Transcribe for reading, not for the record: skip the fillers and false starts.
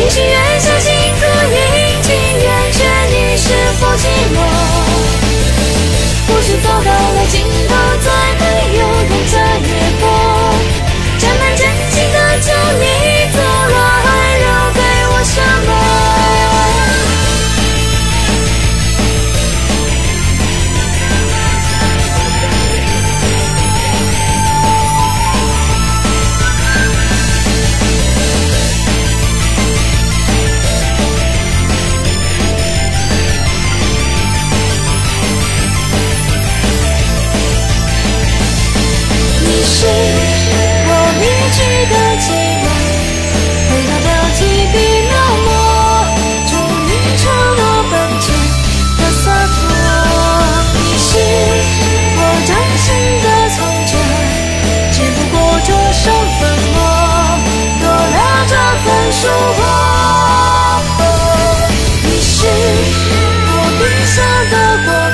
也许愿相信足印，情愿劝你是否寂寞。或许走到了尽头，再没有人在越过。沾满真情的酒，你走了，还留给我什么？是我迷去的寂寞，回到了提笔描摹，终于成了本钱的洒脱。你是我掌心的从前，只不过桌上粉末，多了这份疏忽。你是我笔下的过